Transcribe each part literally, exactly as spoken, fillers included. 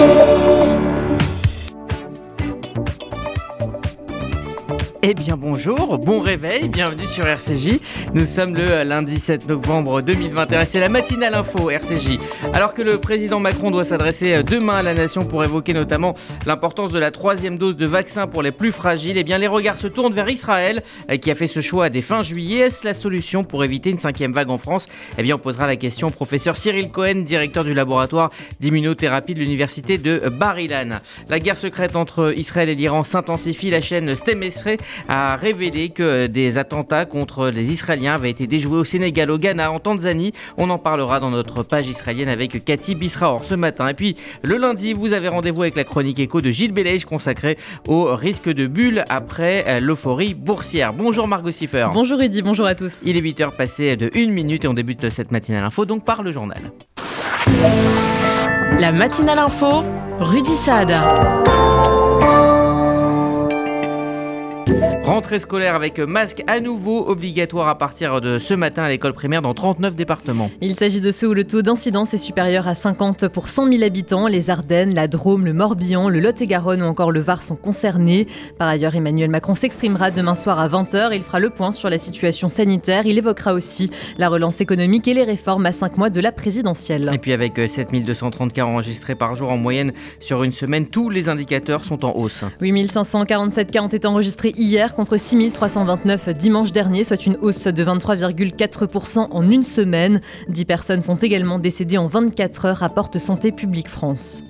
Eh bien bonjour, bon réveil, bienvenue sur R C J. Nous sommes le lundi sept novembre deux mille vingt et un, c'est la matinale info R C J. Alors que le président Macron doit s'adresser demain à la nation pour évoquer notamment l'importance de la troisième dose de vaccin pour les plus fragiles, eh bien les regards se tournent vers Israël qui a fait ce choix dès fin juillet. Est-ce la solution pour éviter une cinquième vague en France ? Eh bien on posera la question au professeur Cyril Cohen, directeur du laboratoire d'immunothérapie de l'université de Bar-Ilan. La guerre secrète entre Israël et l'Iran s'intensifie. La chaîne Stem Esrei a révélé que des attentats contre les Israéliens avaient été déjoués au Sénégal, au Ghana, en Tanzanie. On en parlera dans notre page israélienne avec Cathy Bisraor ce matin. Et puis le lundi, vous avez rendez-vous avec la chronique éco de Gilles Bellège consacrée au risque de bulle après l'euphorie boursière. Bonjour Margot Siffer. Bonjour Rudy, bonjour à tous. Il est huit heures passées de une minute et on débute cette matinale info donc par le journal. La matinale info, Rudy Saad. Rentrée scolaire avec masque à nouveau obligatoire à partir de ce matin à l'école primaire dans trente-neuf départements. Il s'agit de ceux où le taux d'incidence est supérieur à cinquante pour cent mille habitants. Les Ardennes, la Drôme, le Morbihan, le Lot-et-Garonne ou encore le Var sont concernés. Par ailleurs, Emmanuel Macron s'exprimera demain soir à vingt heures. Il fera le point sur la situation sanitaire. Il évoquera aussi la relance économique et les réformes à cinq mois de la présidentielle. Et puis avec sept mille deux cent trente cas enregistrés par jour en moyenne sur une semaine, tous les indicateurs sont en hausse. huit mille cinq cent quarante-sept cas ont été enregistrés hier contre six mille trois cent vingt-neuf dimanche dernier, soit une hausse de vingt-trois virgule quatre pour cent en une semaine. dix personnes sont également décédées en vingt-quatre heures, rapporte Santé publique France.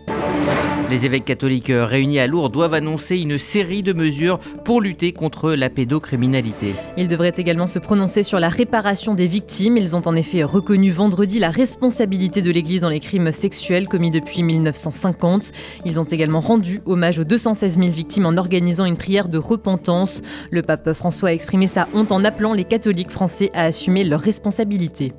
Les évêques catholiques réunis à Lourdes doivent annoncer une série de mesures pour lutter contre la pédocriminalité. Ils devraient également se prononcer sur la réparation des victimes. Ils ont en effet reconnu vendredi la responsabilité de l'Église dans les crimes sexuels commis depuis mille neuf cent cinquante. Ils ont également rendu hommage aux deux cent seize mille victimes en organisant une prière de repentance. Le pape François a exprimé sa honte en appelant les catholiques français à assumer leurs responsabilités.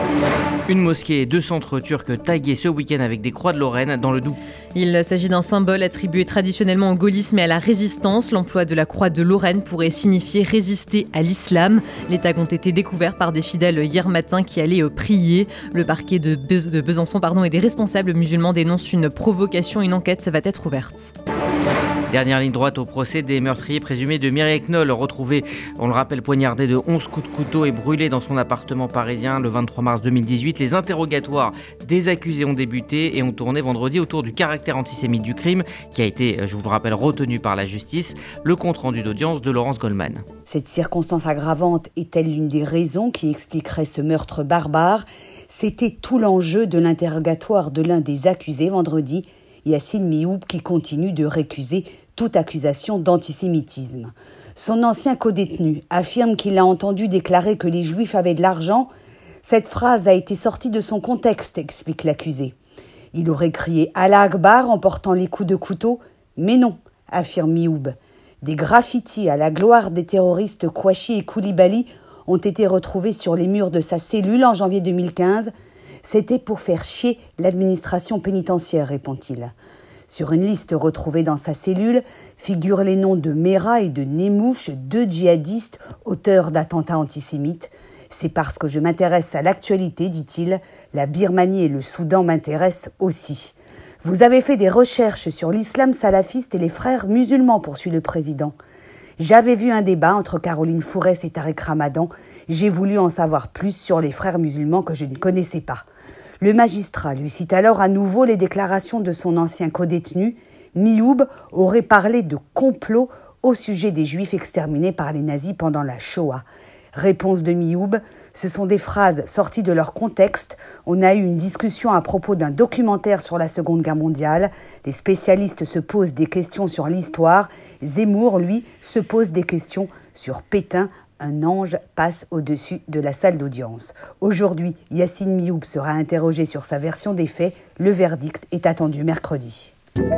Une mosquée et deux centres turcs tagués ce week-end avec des croix de Lorraine dans le Doubs. Il s'agit d'un symbole attribué traditionnellement au gaullisme et à la résistance. L'emploi de la croix de Lorraine pourrait signifier résister à l'islam. Les tags ont été découverts par des fidèles hier matin qui allaient prier. Le parquet de, Be- de Besançon pardon, et des responsables musulmans dénoncent une provocation. Une enquête va être ouverte. Dernière ligne droite au procès des meurtriers présumés de Mireille Knoll, retrouvé, on le rappelle, poignardé de onze coups de couteau et brûlé dans son appartement parisien le vingt-trois mars deux mille dix-huit. Les interrogatoires des accusés ont débuté et ont tourné vendredi autour du caractère antisémite du crime qui a été, je vous le rappelle, retenu par la justice. Le compte-rendu d'audience de Laurence Goldman. Cette circonstance aggravante est-elle l'une des raisons qui expliquerait ce meurtre barbare ? C'était tout l'enjeu de l'interrogatoire de l'un des accusés vendredi, Yassine Mioub, qui continue de récuser toute accusation d'antisémitisme. Son ancien codétenu affirme qu'il a entendu déclarer que les Juifs avaient de l'argent. Cette phrase a été sortie de son contexte, explique l'accusé. Il aurait crié « Allah Akbar » en portant les coups de couteau, mais non, affirme Mioub. Des graffitis à la gloire des terroristes Kouachi et Koulibaly ont été retrouvés sur les murs de sa cellule en janvier deux mille quinze. C'était pour faire chier l'administration pénitentiaire, répond-il. Sur une liste retrouvée dans sa cellule figurent les noms de Mera et de Nemouche, deux djihadistes auteurs d'attentats antisémites. C'est parce que je m'intéresse à l'actualité, dit-il, la Birmanie et le Soudan m'intéressent aussi. Vous avez fait des recherches sur l'islam salafiste et les frères musulmans, poursuit le président. J'avais vu un débat entre Caroline Fourès et Tariq Ramadan. J'ai voulu en savoir plus sur les frères musulmans que je ne connaissais pas. Le magistrat lui cite alors à nouveau les déclarations de son ancien codétenu. Mioub aurait parlé de complot au sujet des Juifs exterminés par les nazis pendant la Shoah. Réponse de Mioub, ce sont des phrases sorties de leur contexte. On a eu une discussion à propos d'un documentaire sur la Seconde Guerre mondiale. Les spécialistes se posent des questions sur l'histoire. Zemmour, lui, se pose des questions sur Pétain. Un ange passe au-dessus de la salle d'audience. Aujourd'hui, Yassine Mioub sera interrogé sur sa version des faits. Le verdict est attendu mercredi.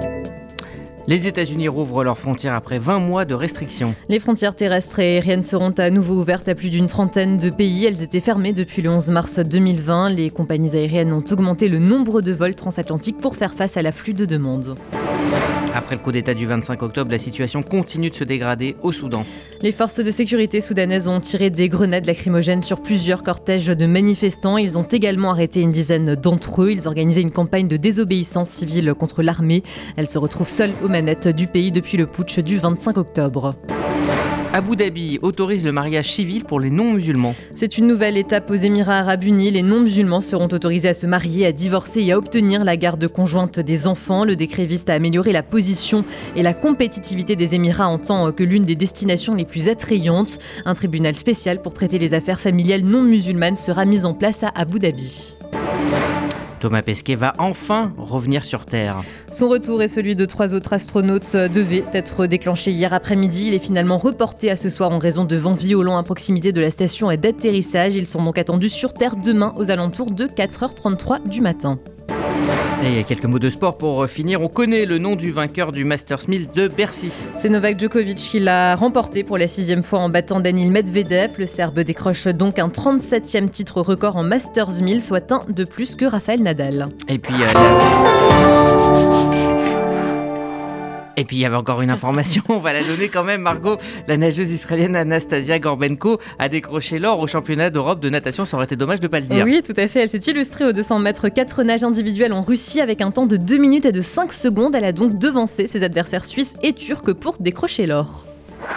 Les États-Unis rouvrent leurs frontières après vingt mois de restrictions. Les frontières terrestres et aériennes seront à nouveau ouvertes à plus d'une trentaine de pays. Elles étaient fermées depuis le onze mars deux mille vingt. Les compagnies aériennes ont augmenté le nombre de vols transatlantiques pour faire face à l'afflux de demandes. Après le coup d'État du vingt-cinq octobre, la situation continue de se dégrader au Soudan. Les forces de sécurité soudanaises ont tiré des grenades lacrymogènes sur plusieurs cortèges de manifestants. Ils ont également arrêté une dizaine d'entre eux. Ils organisaient une campagne de désobéissance civile contre l'armée. Elle se retrouve seule aux manettes du pays depuis le putsch du vingt-cinq octobre. Abu Dhabi autorise le mariage civil pour les non-musulmans. C'est une nouvelle étape aux Émirats arabes unis. Les non-musulmans seront autorisés à se marier, à divorcer et à obtenir la garde conjointe des enfants. Le décret vise à améliorer la position et la compétitivité des Émirats en tant que l'une des destinations les plus attrayantes. Un tribunal spécial pour traiter les affaires familiales non musulmanes sera mis en place à Abu Dhabi. Thomas Pesquet va enfin revenir sur Terre. Son retour et celui de trois autres astronautes devait être déclenché hier après-midi. Il est finalement reporté à ce soir en raison de vents violents à proximité de la station d'atterrissage. Ils sont donc attendus sur Terre demain aux alentours de quatre heures trente-trois du matin. Et quelques mots de sport pour finir. On connaît le nom du vainqueur du Masters mille de Bercy. C'est Novak Djokovic qui l'a remporté pour la sixième fois en battant Daniil Medvedev. Le Serbe décroche donc un trente-septième titre record en Masters mille, soit un de plus que Rafael Nadal. Et puis... Euh, la... Et puis il y avait encore une information, on va la donner quand même, Margot. La nageuse israélienne Anastasia Gorbenko a décroché l'or au championnat d'Europe de natation, ça aurait été dommage de ne pas le dire. Oui, tout à fait, elle s'est illustrée aux deux cents mètres quatre nages individuels en Russie avec un temps de deux minutes et de cinq secondes. Elle a donc devancé ses adversaires suisses et turcs pour décrocher l'or.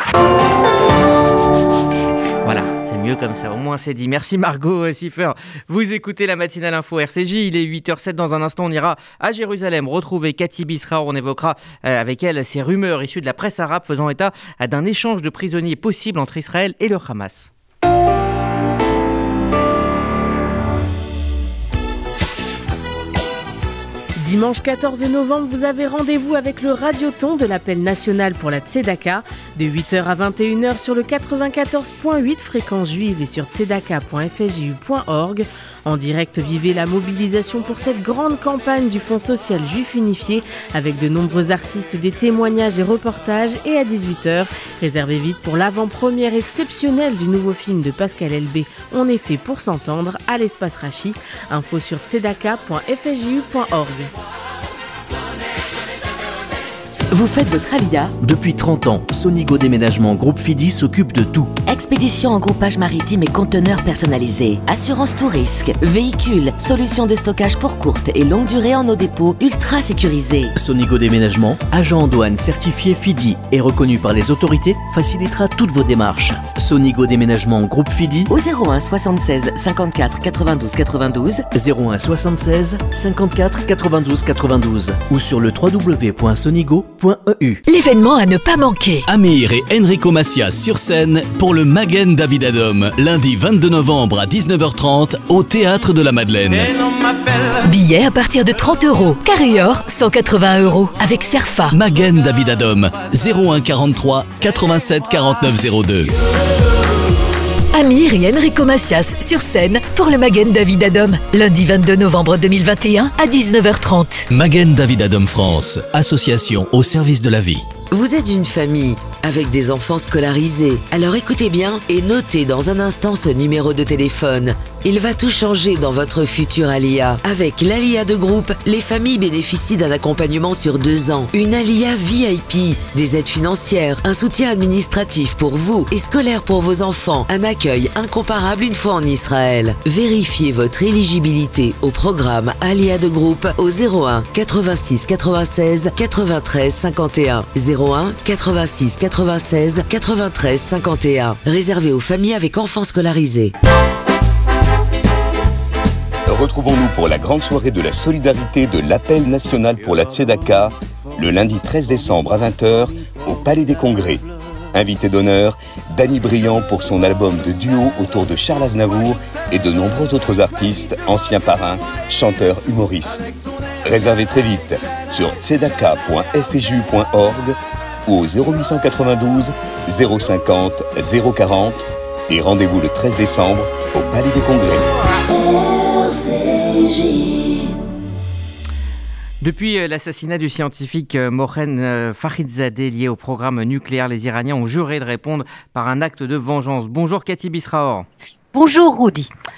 Voilà, c'est mieux comme ça, au moins c'est dit. Merci Margot Siffer. Vous écoutez la matinale info R C J, il est huit heures zéro sept. Dans un instant, on ira à Jérusalem retrouver Cathy Bisraor. On évoquera euh, avec elle ces rumeurs issues de la presse arabe faisant état euh, d'un échange de prisonniers possible entre Israël et le Hamas. Dimanche quatorze novembre, vous avez rendez-vous avec le Radioton de l'appel national pour la Tzedaka de huit heures à vingt et une heures sur le quatre-vingt-quatorze point huit fréquence juive et sur tzedaka point f s j u point org. En direct, vivez la mobilisation pour cette grande campagne du Fonds social juif unifié avec de nombreux artistes, des témoignages et reportages. Et à dix-huit heures, réservez vite pour l'avant-première exceptionnelle du nouveau film de Pascal Elbé, On est fait pour s'entendre, à l'espace Rachi. Info sur tzedaka point f s j u point org. Vous faites votre alia ? Depuis trente ans, Sonigo Déménagement Groupe Fidi s'occupe de tout. Expédition en groupage maritime et conteneurs personnalisés, assurance tout risque, véhicules, solutions de stockage pour courte et longue durée en nos dépôts ultra sécurisés. Sonigo Déménagement, agent en douane certifié Fidi et reconnu par les autorités, facilitera toutes vos démarches. Sonigo Déménagement Groupe Fidi au zéro un soixante-seize cinquante-quatre quatre-vingt-douze quatre-vingt-douze, zéro un soixante-seize cinquante-quatre quatre-vingt-douze quatre-vingt-douze ou sur le w w w point sonigo point e u. L'événement à ne pas manquer. Amir et Enrico Macias sur scène pour le Magen David Adom, lundi vingt-deux novembre à dix-neuf heures trente au Théâtre de la Madeleine. Billets à partir de trente euros. Carré or, cent quatre-vingts euros. Avec Cerfa. Magen David Adom, zéro un quarante-trois quatre-vingt-sept quarante-neuf zéro deux. Amir et Enrico Macias sur scène pour le Magen David Adom, lundi vingt-deux novembre deux mille vingt et un à dix-neuf heures trente. Magen David Adom France, association au service de la vie. Vous êtes une famille avec des enfants scolarisés. Alors écoutez bien et notez dans un instant ce numéro de téléphone. Il va tout changer dans votre futur Alia. Avec l'Alia de groupe, les familles bénéficient d'un accompagnement sur deux ans. Une Alia V I P, des aides financières, un soutien administratif pour vous et scolaire pour vos enfants, un accueil incomparable une fois en Israël. Vérifiez votre éligibilité au programme Alia de groupe au zéro un quatre-vingt-six quatre-vingt-seize quatre-vingt-treize cinquante et un. zéro un quatre-vingt-six quatre-vingt-seize quatre-vingt-treize cinquante et un. Réservé aux familles avec enfants scolarisés. Retrouvons-nous pour la grande soirée de la solidarité de l'appel national pour la Tzedaka, le lundi treize décembre à vingt heures au Palais des Congrès. Invité d'honneur, Danny Briand pour son album de duo autour de Charles Aznavour et de nombreux autres artistes, anciens parrains, chanteurs, humoristes. Réservez très vite sur tzedaka point f s j u point org ou au zéro huit cent quatre-vingt-douze zéro cinquante zéro quarante et rendez-vous le treize décembre au Palais des Congrès. Depuis l'assassinat du scientifique Mohsen Fakhrizadeh lié au programme nucléaire, les Iraniens ont juré de répondre par un acte de vengeance. Bonjour Cathy Bisraor. Bonjour Rudy.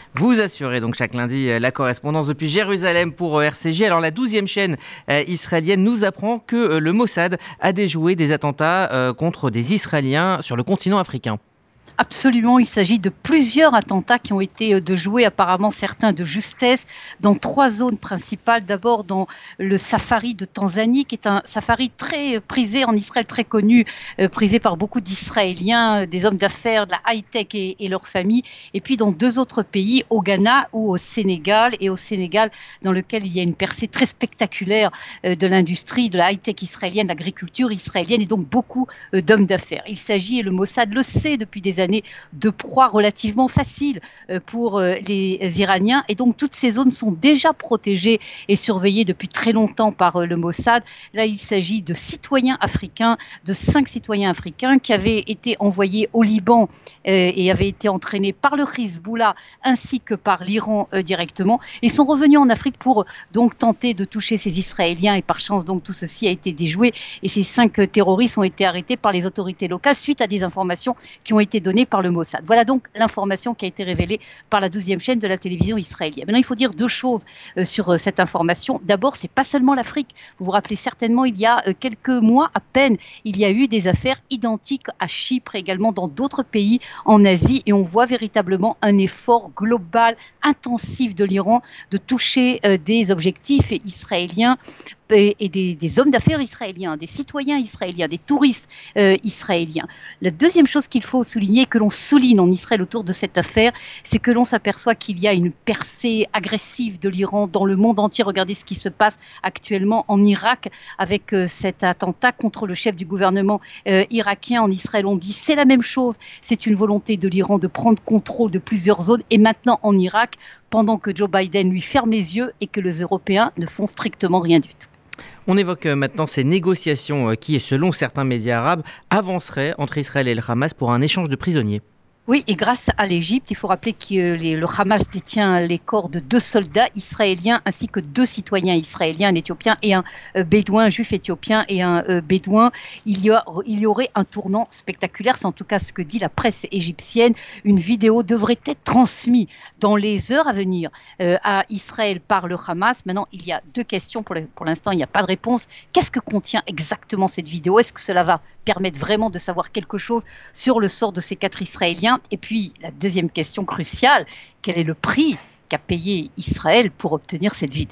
Vous assurez donc chaque lundi la correspondance depuis Jérusalem pour R C J. Alors la douzième chaîne israélienne nous apprend que le Mossad a déjoué des attentats contre des Israéliens sur le continent africain. Absolument, il s'agit de plusieurs attentats qui ont été déjoués, apparemment certains de justesse, dans trois zones principales. D'abord dans le safari de Tanzanie, qui est un safari très prisé en Israël, très connu, euh, prisé par beaucoup d'Israéliens, des hommes d'affaires, de la high-tech et, et leurs familles. Et puis dans deux autres pays, au Ghana ou au Sénégal. Et au Sénégal, dans lequel il y a une percée très spectaculaire euh, de l'industrie, de la high-tech israélienne, de l'agriculture israélienne, et donc beaucoup euh, d'hommes d'affaires. Il s'agit, et le Mossad le sait depuis des années, de proies relativement faciles pour les Iraniens, et donc toutes ces zones sont déjà protégées et surveillées depuis très longtemps par le Mossad. Là, il s'agit de citoyens africains, de cinq citoyens africains qui avaient été envoyés au Liban euh, et avaient été entraînés par le Hezbollah ainsi que par l'Iran euh, directement, et sont revenus en Afrique pour donc tenter de toucher ces Israéliens, et par chance donc tout ceci a été déjoué, et ces cinq terroristes ont été arrêtés par les autorités locales suite à des informations qui ont été données par le Mossad. Voilà donc l'information qui a été révélée par la douzième chaîne de la télévision israélienne. Maintenant, il faut dire deux choses euh, sur euh, cette information. D'abord, c'est pas seulement l'Afrique. Vous vous rappelez certainement, il y a euh, quelques mois à peine, il y a eu des affaires identiques à Chypre, également dans d'autres pays en Asie, et on voit véritablement un effort global, intensif de l'Iran de toucher euh, des objectifs israéliens et des, des hommes d'affaires israéliens, des citoyens israéliens, des touristes euh, israéliens. La deuxième chose qu'il faut souligner, que l'on souligne en Israël autour de cette affaire, c'est que l'on s'aperçoit qu'il y a une percée agressive de l'Iran dans le monde entier. Regardez ce qui se passe actuellement en Irak avec euh, cet attentat contre le chef du gouvernement euh, irakien. En Israël, on dit c'est la même chose. C'est une volonté de l'Iran de prendre contrôle de plusieurs zones, et maintenant en Irak, pendant que Joe Biden lui ferme les yeux et que les Européens ne font strictement rien du tout. On évoque maintenant ces négociations qui, selon certains médias arabes, avanceraient entre Israël et le Hamas pour un échange de prisonniers. Oui, et grâce à l'Égypte, il faut rappeler que les, le Hamas détient les corps de deux soldats israéliens ainsi que deux citoyens israéliens, un éthiopien et un euh, bédouin, un juif éthiopien et un euh, bédouin. Il y, a, il y aurait un tournant spectaculaire, c'est en tout cas ce que dit la presse égyptienne. Une vidéo devrait être transmise dans les heures à venir euh, à Israël par le Hamas. Maintenant, il y a deux questions, pour, le, pour l'instant il n'y a pas de réponse. Qu'est-ce que contient exactement cette vidéo ? Est-ce que cela va permettre vraiment de savoir quelque chose sur le sort de ces quatre Israéliens ? Et puis, la deuxième question cruciale, quel est le prix qu'a payé Israël pour obtenir cette vidéo ?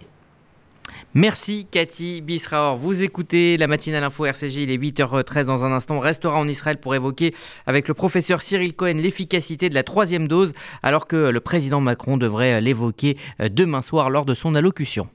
Merci Cathy Bisraor. Vous écoutez la matinale info R C J, il est huit heures treize dans un instant. On restera en Israël pour évoquer avec le professeur Cyril Cohen l'efficacité de la troisième dose, alors que le président Macron devrait l'évoquer demain soir lors de son allocution.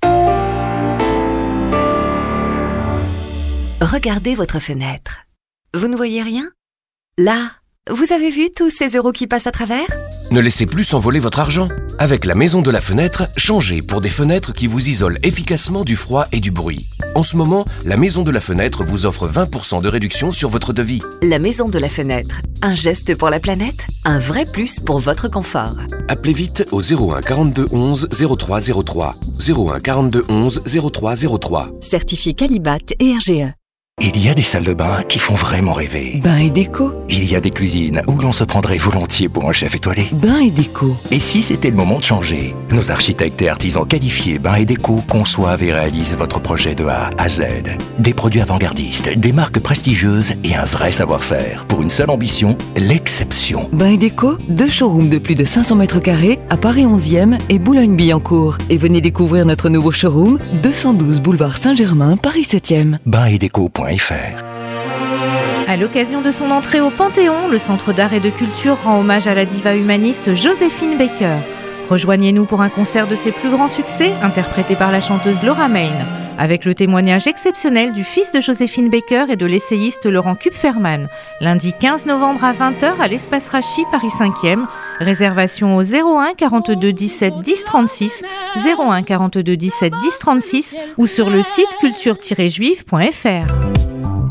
Regardez votre fenêtre. Vous ne voyez rien ? Là, vous avez vu tous ces euros qui passent à travers ? Ne laissez plus s'envoler votre argent. Avec la Maison de la Fenêtre, changez pour des fenêtres qui vous isolent efficacement du froid et du bruit. En ce moment, la Maison de la Fenêtre vous offre vingt pour cent de réduction sur votre devis. La Maison de la Fenêtre, un geste pour la planète, un vrai plus pour votre confort. Appelez vite au zéro un quarante-deux onze zéro trois zéro trois. zéro un quarante-deux onze zéro trois zéro trois. Certifié Qualibat et R G E. Il y a des salles de bain qui font vraiment rêver. Bain et déco. Il y a des cuisines où l'on se prendrait volontiers pour un chef étoilé. Bain et déco. Et si c'était le moment de changer ? Nos architectes et artisans qualifiés Bain et déco conçoivent et réalisent votre projet de A à Z. Des produits avant-gardistes, des marques prestigieuses et un vrai savoir-faire. Pour une seule ambition, l'exception. Bain et déco, deux showrooms de plus de cinq cents mètres carrés à Paris onzième et Boulogne-Billancourt. Et venez découvrir notre nouveau showroom, deux cent douze boulevard Saint-Germain, Paris septième. bain et déco point f r. À l'occasion de son entrée au Panthéon, le Centre d'art et de culture rend hommage à la diva humaniste Joséphine Baker. Rejoignez-nous pour un concert de ses plus grands succès, interprété par la chanteuse Laura Main, avec le témoignage exceptionnel du fils de Joséphine Baker et de l'essayiste Laurent Kupferman, lundi quinze novembre à vingt heures à l'Espace Rachi, Paris cinquième. Réservation au zéro un quarante-deux dix-sept dix trente-six, zéro un quarante-deux dix-sept dix trente-six ou sur le site culture tiret juive point f r.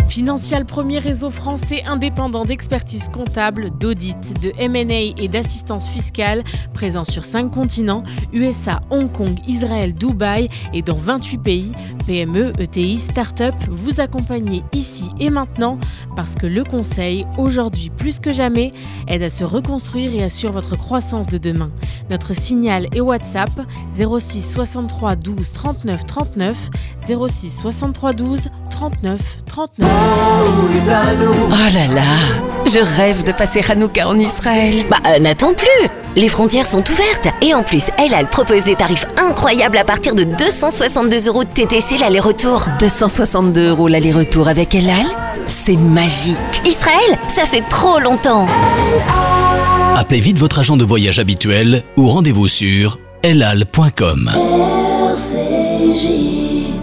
Financial, premier réseau français indépendant d'expertise comptable, d'audit, de M and A et d'assistance fiscale, présent sur cinq continents, U S A, Hong Kong, Israël, Dubaï et dans vingt-huit pays. P M E, E T I, start-up, vous accompagnez ici et maintenant parce que le conseil, aujourd'hui plus que jamais, aide à se reconstruire et assure votre croissance de demain. Notre signal et WhatsApp zéro six soixante-trois douze trente-neuf trente-neuf, zéro six soixante-trois douze trente-neuf trente-neuf. Oh là là, je rêve de passer Hanouka en Israël. Bah euh, n'attends plus, les frontières sont ouvertes et en plus El Al propose des tarifs incroyables à partir de deux cent soixante-deux euros de T T C l'aller-retour. deux cent soixante-deux euros l'aller-retour avec El Al, c'est magique. Israël, ça fait trop longtemps. Appelez vite votre agent de voyage habituel ou rendez-vous sur elal point com. R C J.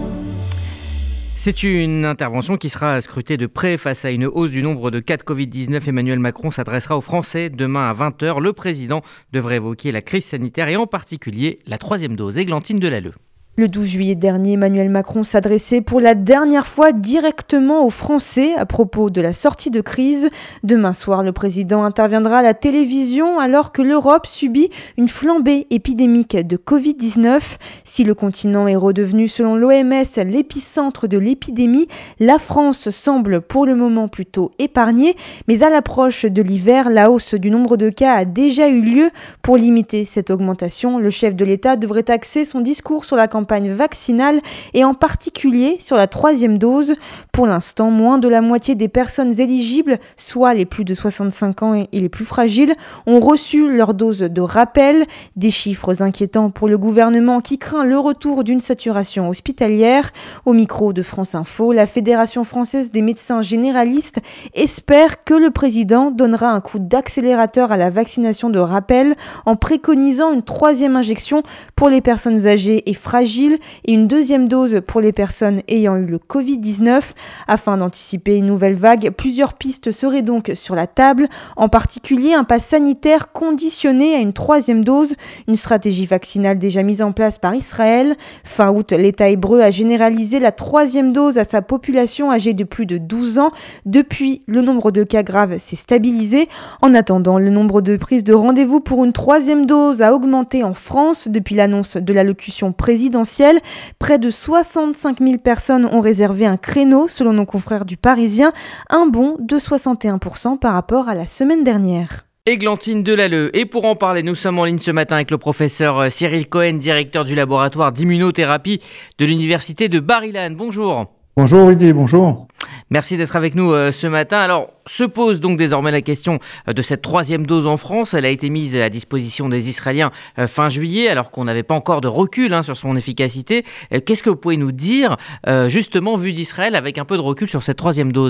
C'est une intervention qui sera scrutée de près face à une hausse du nombre de cas de covid dix-neuf. Emmanuel Macron s'adressera aux Français demain à vingt heures. Le président devrait évoquer la crise sanitaire et en particulier la troisième dose. Églantine Delalleux. Le douze juillet dernier, Emmanuel Macron s'adressait pour la dernière fois directement aux Français à propos de la sortie de crise. Demain soir, le président interviendra à la télévision alors que l'Europe subit une flambée épidémique de covid dix-neuf. Si le continent est redevenu, selon l'O M S, l'épicentre de l'épidémie, la France semble pour le moment plutôt épargnée. Mais à l'approche de l'hiver, la hausse du nombre de cas a déjà eu lieu. Pour limiter cette augmentation, le chef de l'État devrait axer son discours sur la campagne vaccinale et en particulier sur la troisième dose. Pour l'instant, moins de la moitié des personnes éligibles, soit les plus de soixante-cinq ans et les plus fragiles, ont reçu leur dose de rappel. Des chiffres inquiétants pour le gouvernement qui craint le retour d'une saturation hospitalière. Au micro de France Info, la Fédération française des médecins généralistes espère que le président donnera un coup d'accélérateur à la vaccination de rappel en préconisant une troisième injection pour les personnes âgées et fragiles et une deuxième dose pour les personnes ayant eu le covid dix-neuf. Afin d'anticiper une nouvelle vague, plusieurs pistes seraient donc sur la table, en particulier un pass sanitaire conditionné à une troisième dose, une stratégie vaccinale déjà mise en place par Israël. Fin août, l'État hébreu a généralisé la troisième dose à sa population âgée de plus de douze ans. Depuis, le nombre de cas graves s'est stabilisé. En attendant, le nombre de prises de rendez-vous pour une troisième dose a augmenté en France depuis l'annonce de l'allocution présidentielle. Près de soixante-cinq mille personnes ont réservé un créneau, selon nos confrères du Parisien, un bond de soixante et un pour cent par rapport à la semaine dernière. Églantine Delalleux. Et pour en parler, nous sommes en ligne ce matin avec le professeur Cyril Cohen, directeur du laboratoire d'immunothérapie de l'université de Bar-Ilan. Bonjour. Bonjour Rudy, bonjour. Merci d'être avec nous euh, ce matin. Alors, se pose donc désormais la question euh, de cette troisième dose en France. Elle a été mise à disposition des Israéliens euh, fin juillet, alors qu'on n'avait pas encore de recul hein, sur son efficacité. Euh, qu'est-ce que vous pouvez nous dire, euh, justement, vu d'Israël, avec un peu de recul sur cette troisième dose ?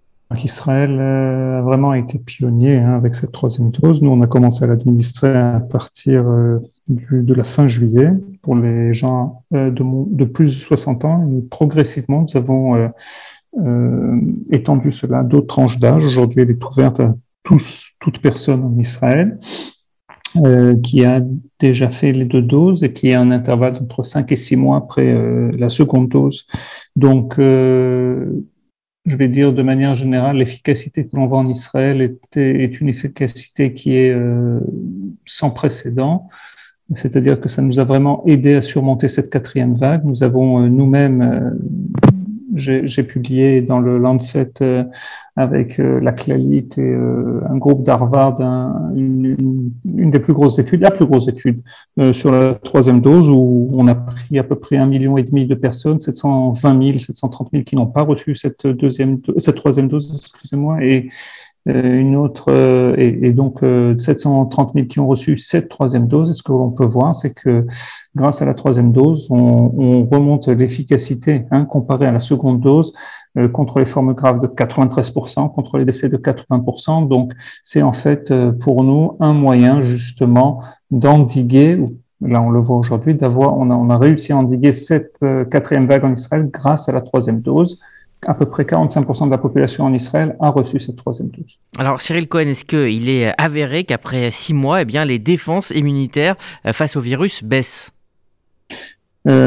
Israël euh, a vraiment été pionnier hein, avec cette troisième dose. Nous, on a commencé à l'administrer à partir euh, du, de la fin juillet pour les gens euh, de, de plus de soixante ans. Et progressivement, nous avons euh, euh, étendu cela à d'autres tranches d'âge. Aujourd'hui, elle est ouverte à tous, toute personne en Israël euh, qui a déjà fait les deux doses et qui a un intervalle d'entre cinq et six mois après euh, la seconde dose. Donc, euh, je vais dire de manière générale, l'efficacité que l'on voit en Israël est, est une efficacité qui est euh, sans précédent. C'est-à-dire que ça nous a vraiment aidé à surmonter cette quatrième vague. Nous avons euh, nous-mêmes, euh, j'ai, j'ai publié dans le Lancet euh, avec euh, la Clalit et euh, un groupe d'Harvard, un, une, une, une des plus grosses études, la plus grosse étude euh, sur la troisième dose, où on a pris à peu près un million et demi de personnes, sept cent vingt mille, sept cent trente mille qui n'ont pas reçu cette deuxième, cette troisième dose, excusez-moi, et euh, une autre, euh, et, et donc euh, sept cent trente mille qui ont reçu cette troisième dose. Et ce que l'on peut voir, c'est que grâce à la troisième dose, on, on remonte l'efficacité hein, comparée à la seconde dose euh, contre les formes graves de quatre-vingt-treize pour cent, contre les décès de quatre-vingts pour cent. Donc, c'est en fait euh, pour nous un moyen justement d'endiguer, là on le voit aujourd'hui, d'avoir, on a, on a réussi à endiguer cette euh, quatrième vague en Israël grâce à la troisième dose. À peu près quarante-cinq pour cent de la population en Israël a reçu cette troisième dose. Alors Cyril Cohen, est-ce qu'il est avéré qu'après six mois, eh bien, les défenses immunitaires face au virus baissent ? Euh,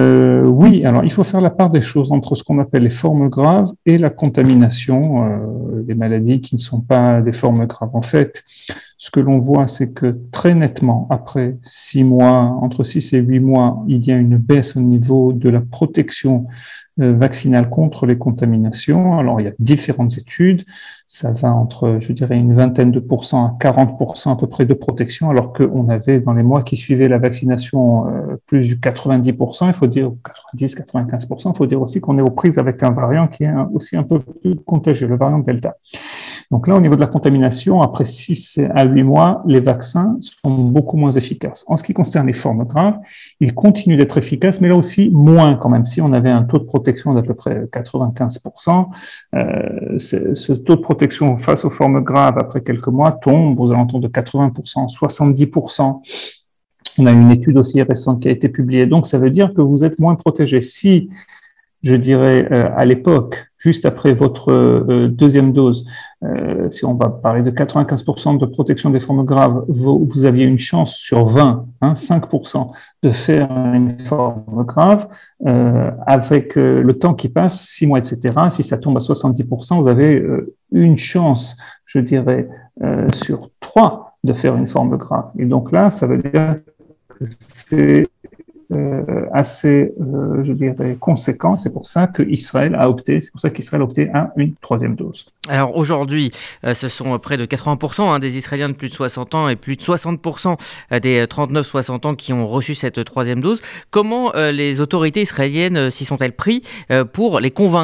oui, alors il faut faire la part des choses entre ce qu'on appelle les formes graves et la contamination, euh, les maladies qui ne sont pas des formes graves. En fait, ce que l'on voit, c'est que très nettement, après six mois, entre six et huit mois, il y a une baisse au niveau de la protection euh, vaccinale contre les contaminations. Alors, il y a différentes études. Ça va entre, je dirais, une vingtaine de pourcents à quarante pour cent à peu près de protection, alors qu'on avait dans les mois qui suivaient la vaccination euh, plus du quatre-vingt-dix pour cent, il faut dire quatre-vingt-dix à quatre-vingt-quinze pour cent, il faut dire aussi qu'on est aux prises avec un variant qui est un, aussi un peu plus contagieux, le variant Delta. Donc là, au niveau de la contamination, après six à huit mois, les vaccins sont beaucoup moins efficaces. En ce qui concerne les formes graves, ils continuent d'être efficaces, mais là aussi moins quand même. Si on avait un taux de protection d'à peu près quatre-vingt-quinze pour cent, euh, ce taux de protection face aux formes graves après quelques mois tombe aux alentours de quatre-vingts pour cent, soixante-dix pour cent. On a une étude aussi récente qui a été publiée. Donc, ça veut dire que vous êtes moins protégé. Si, je dirais, euh, à l'époque, juste après votre euh, deuxième dose, euh, si on va parler de quatre-vingt-quinze pour cent de protection des formes graves, vous, vous aviez une chance sur vingt, hein, cinq pour cent de faire une forme grave, euh, avec euh, le temps qui passe, six mois, et cetera, si ça tombe à soixante-dix pour cent, vous avez euh, une chance, je dirais, euh, sur trois de faire une forme grave. Et donc là, ça veut dire que c'est Euh, assez, euh, je dirais, conséquent. C'est pour ça qu'Israël a opté, c'est pour ça qu'Israël a opté à une troisième dose. Alors aujourd'hui, euh, ce sont près de quatre-vingts pour cent hein, des Israéliens de plus de soixante ans et plus de soixante pour cent des trente-neuf soixante ans qui ont reçu cette troisième dose. Comment euh, les autorités israéliennes euh, s'y sont-elles pris euh, pour les convaincre ?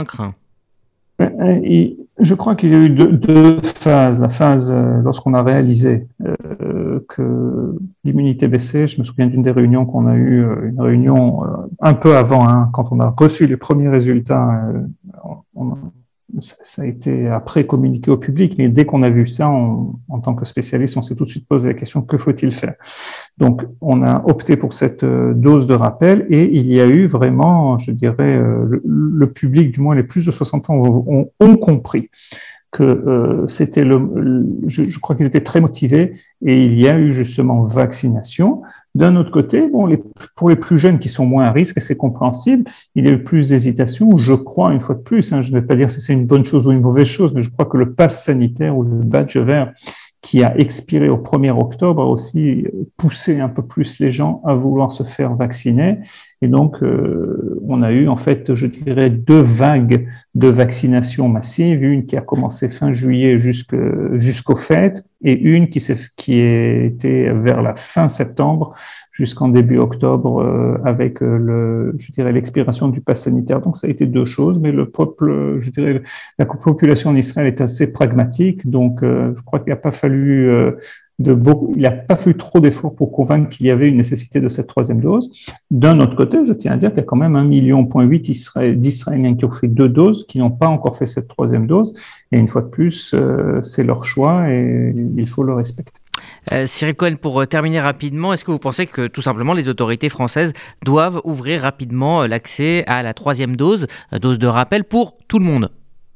Et je crois qu'il y a eu deux, deux phases. La phase euh, lorsqu'on a réalisé euh, que l'immunité baissait. Je me souviens d'une des réunions qu'on a eues, euh, une réunion euh, un peu avant, hein, quand on a reçu les premiers résultats. Euh, on, ça, ça a été après communiqué au public, mais dès qu'on a vu ça, on, en tant que spécialiste, on s'est tout de suite posé la question, que faut-il faire ? Donc, on a opté pour cette euh, dose de rappel et il y a eu vraiment, je dirais, euh, le, le public, du moins les plus de soixante ans, ont, ont compris que euh, c'était le, le je, je crois qu'ils étaient très motivés et il y a eu justement vaccination. D'un autre côté, bon, les, pour les plus jeunes qui sont moins à risque, et c'est compréhensible, il y a eu plus d'hésitation. Je crois, une fois de plus, hein, je ne vais pas dire si c'est une bonne chose ou une mauvaise chose, mais je crois que le pass sanitaire ou le badge vert qui a expiré au premier octobre a aussi poussé un peu plus les gens à vouloir se faire vacciner. Et donc, euh, on a eu en fait, je dirais, deux vagues de vaccination massive, une qui a commencé fin juillet jusque, jusqu'aux fêtes et une qui, s'est, qui était vers la fin septembre jusqu'en début octobre euh, avec euh, le, je dirais, l'expiration du pass sanitaire. Donc, ça a été deux choses, mais le peuple, je dirais, la population en Israël est assez pragmatique, donc euh, je crois qu'il n'a pas fallu euh, de beaucoup, il n'a pas fallu trop d'efforts pour convaincre qu'il y avait une nécessité de cette troisième dose. D'un autre côté, je tiens à dire qu'il y a quand même un million point huit d'Israéliens qui ont fait deux doses, qui n'ont pas encore fait cette troisième dose. Et une fois de plus, euh, c'est leur choix et il faut le respecter. Euh, Cyril Cohen, pour terminer rapidement, est-ce que vous pensez que tout simplement les autorités françaises doivent ouvrir rapidement l'accès à la troisième dose, dose de rappel pour tout le monde ?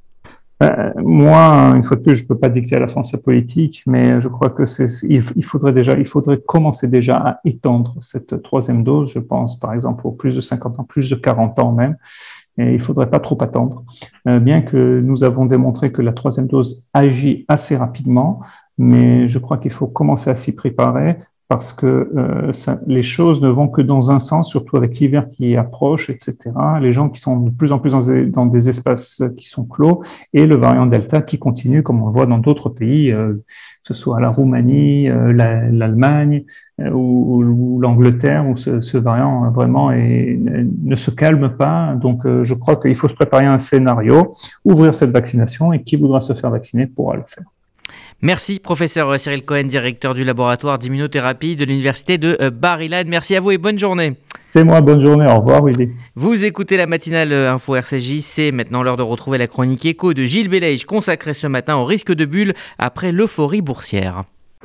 Euh, moi, une fois de plus, je ne peux pas dicter à la France sa politique, mais je crois que c'est, il, il faudrait déjà, il faudrait commencer déjà à étendre cette troisième dose. Je pense, par exemple, aux plus de cinquante ans, plus de quarante ans même. Et il ne faudrait pas trop attendre. Euh, bien que nous avons démontré que la troisième dose agit assez rapidement, mais je crois qu'il faut commencer à s'y préparer parce que euh, ça, les choses ne vont que dans un sens, surtout avec l'hiver qui approche, et cetera. Les gens qui sont de plus en plus dans des, dans des espaces qui sont clos et le variant Delta qui continue, comme on le voit dans d'autres pays, euh, que ce soit la Roumanie, euh, la, l'Allemagne euh, ou, ou l'Angleterre, où ce, ce variant vraiment est, ne se calme pas. Donc, euh, je crois qu'il faut se préparer à un scénario, ouvrir cette vaccination et qui voudra se faire vacciner pourra le faire. Merci, professeur Cyril Cohen, directeur du laboratoire d'immunothérapie de l'université de Bar-Ilan. Merci à vous et bonne journée. C'est moi, bonne journée, au revoir Willy. Vous écoutez la matinale Info R C J, c'est maintenant l'heure de retrouver la chronique écho de Gilles Bellège, consacrée ce matin au risque de bulle après l'euphorie boursière.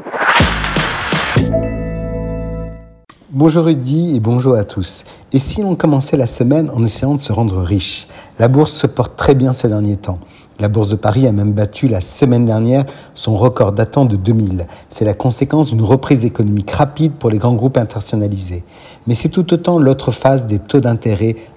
Bonjour Rudy et bonjour à tous. Et si on commençait la semaine en essayant de se rendre riche ? La bourse se porte très bien ces derniers temps. La Bourse de Paris a même battu la semaine dernière son record datant de deux mille. C'est la conséquence d'une reprise économique rapide pour les grands groupes internationalisés. Mais c'est tout autant l'autre phase des taux d'intérêt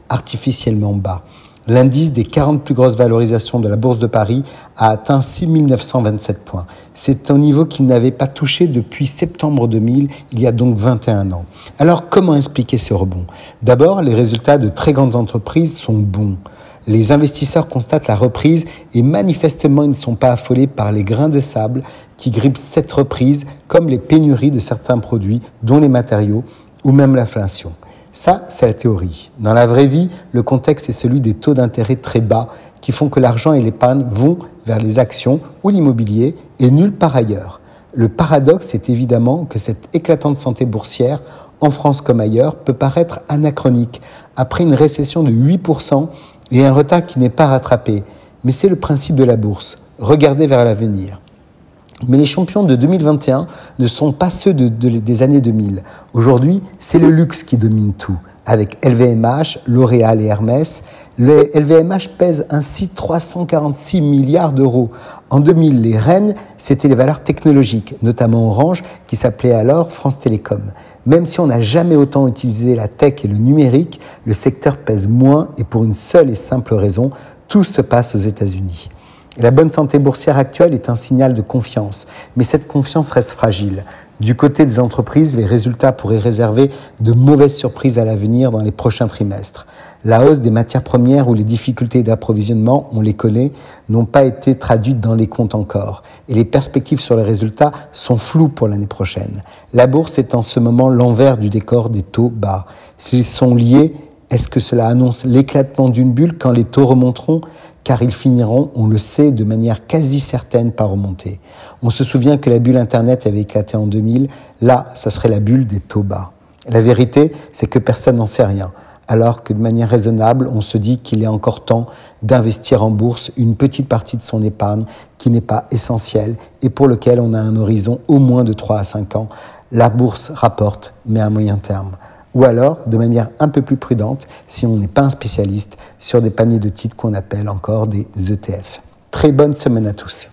artificiellement bas. L'indice des quarante plus grosses valorisations de la Bourse de Paris a atteint six mille neuf cent vingt-sept points. C'est un niveau qu'il n'avait pas touché depuis septembre deux mille, il y a donc vingt et un ans. Alors comment expliquer ce rebond ? D'abord, les résultats de très grandes entreprises sont bons. Les investisseurs constatent la reprise et manifestement ils ne sont pas affolés par les grains de sable qui grippent cette reprise, comme les pénuries de certains produits, dont les matériaux ou même l'inflation. Ça, c'est la théorie. Dans la vraie vie, le contexte est celui des taux d'intérêt très bas qui font que l'argent et l'épargne vont vers les actions ou l'immobilier et nulle part ailleurs. Le paradoxe est évidemment que cette éclatante santé boursière, en France comme ailleurs, peut paraître anachronique après une récession de huit pour cent et un retard qui n'est pas rattrapé. Mais c'est le principe de la bourse. Regardez vers l'avenir. Mais les champions de deux mille vingt et un ne sont pas ceux de, de, des années deux mille. Aujourd'hui, c'est le luxe qui domine tout. Avec L V M H, L'Oréal et Hermès, le L V M H pèse ainsi trois cent quarante-six milliards d'euros. En deux mille, les reines, c'était les valeurs technologiques, notamment Orange, qui s'appelait alors France Télécom. Même si on n'a jamais autant utilisé la tech et le numérique, le secteur pèse moins et pour une seule et simple raison, tout se passe aux États-Unis. Et la bonne santé boursière actuelle est un signal de confiance, mais cette confiance reste fragile. Du côté des entreprises, les résultats pourraient réserver de mauvaises surprises à l'avenir dans les prochains trimestres. La hausse des matières premières ou les difficultés d'approvisionnement, on les connaît, n'ont pas été traduites dans les comptes encore. Et les perspectives sur les résultats sont floues pour l'année prochaine. La bourse est en ce moment l'envers du décor des taux bas. S'ils sont liés, est-ce que cela annonce l'éclatement d'une bulle quand les taux remonteront ? Car ils finiront, on le sait, de manière quasi certaine par remonter. On se souvient que la bulle Internet avait éclaté en deux mille. Là, ça serait la bulle des taux bas. La vérité, c'est que personne n'en sait rien. Alors que de manière raisonnable, on se dit qu'il est encore temps d'investir en bourse une petite partie de son épargne qui n'est pas essentielle et pour lequel on a un horizon au moins de trois à cinq ans. La bourse rapporte, mais à moyen terme. Ou alors, de manière un peu plus prudente, si on n'est pas un spécialiste, sur des paniers de titres qu'on appelle encore des E T F. Très bonne semaine à tous.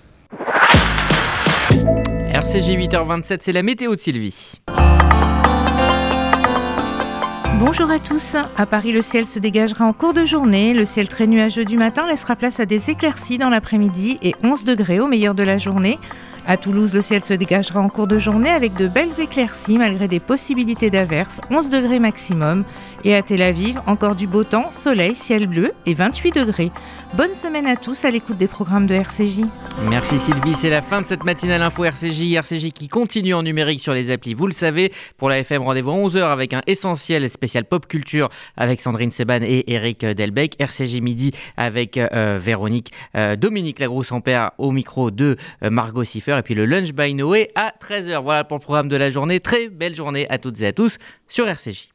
R C J huit heures vingt-sept, c'est la météo de Sylvie. Bonjour à tous. À Paris, le ciel se dégagera en cours de journée. Le ciel très nuageux du matin laissera place à des éclaircies dans l'après-midi et onze degrés au meilleur de la journée. À Toulouse, le ciel se dégagera en cours de journée avec de belles éclaircies malgré des possibilités d'averses, onze degrés maximum. Et à Tel Aviv, encore du beau temps, soleil, ciel bleu et vingt-huit degrés. Bonne semaine à tous à l'écoute des programmes de R C J. Merci Sylvie, c'est la fin de cette matinale info R C J. R C J qui continue en numérique sur les applis, vous le savez. Pour la F M, rendez-vous à onze heures avec un essentiel spécial pop culture avec Sandrine Seban et Eric Delbecq. R C J midi avec euh, Véronique, euh, Dominique Lagroux-Ampère au micro de euh, Margot Siffer. Et puis le Lunch by Noé à treize heures. Voilà pour le programme de la journée. Très belle journée à toutes et à tous sur R C J.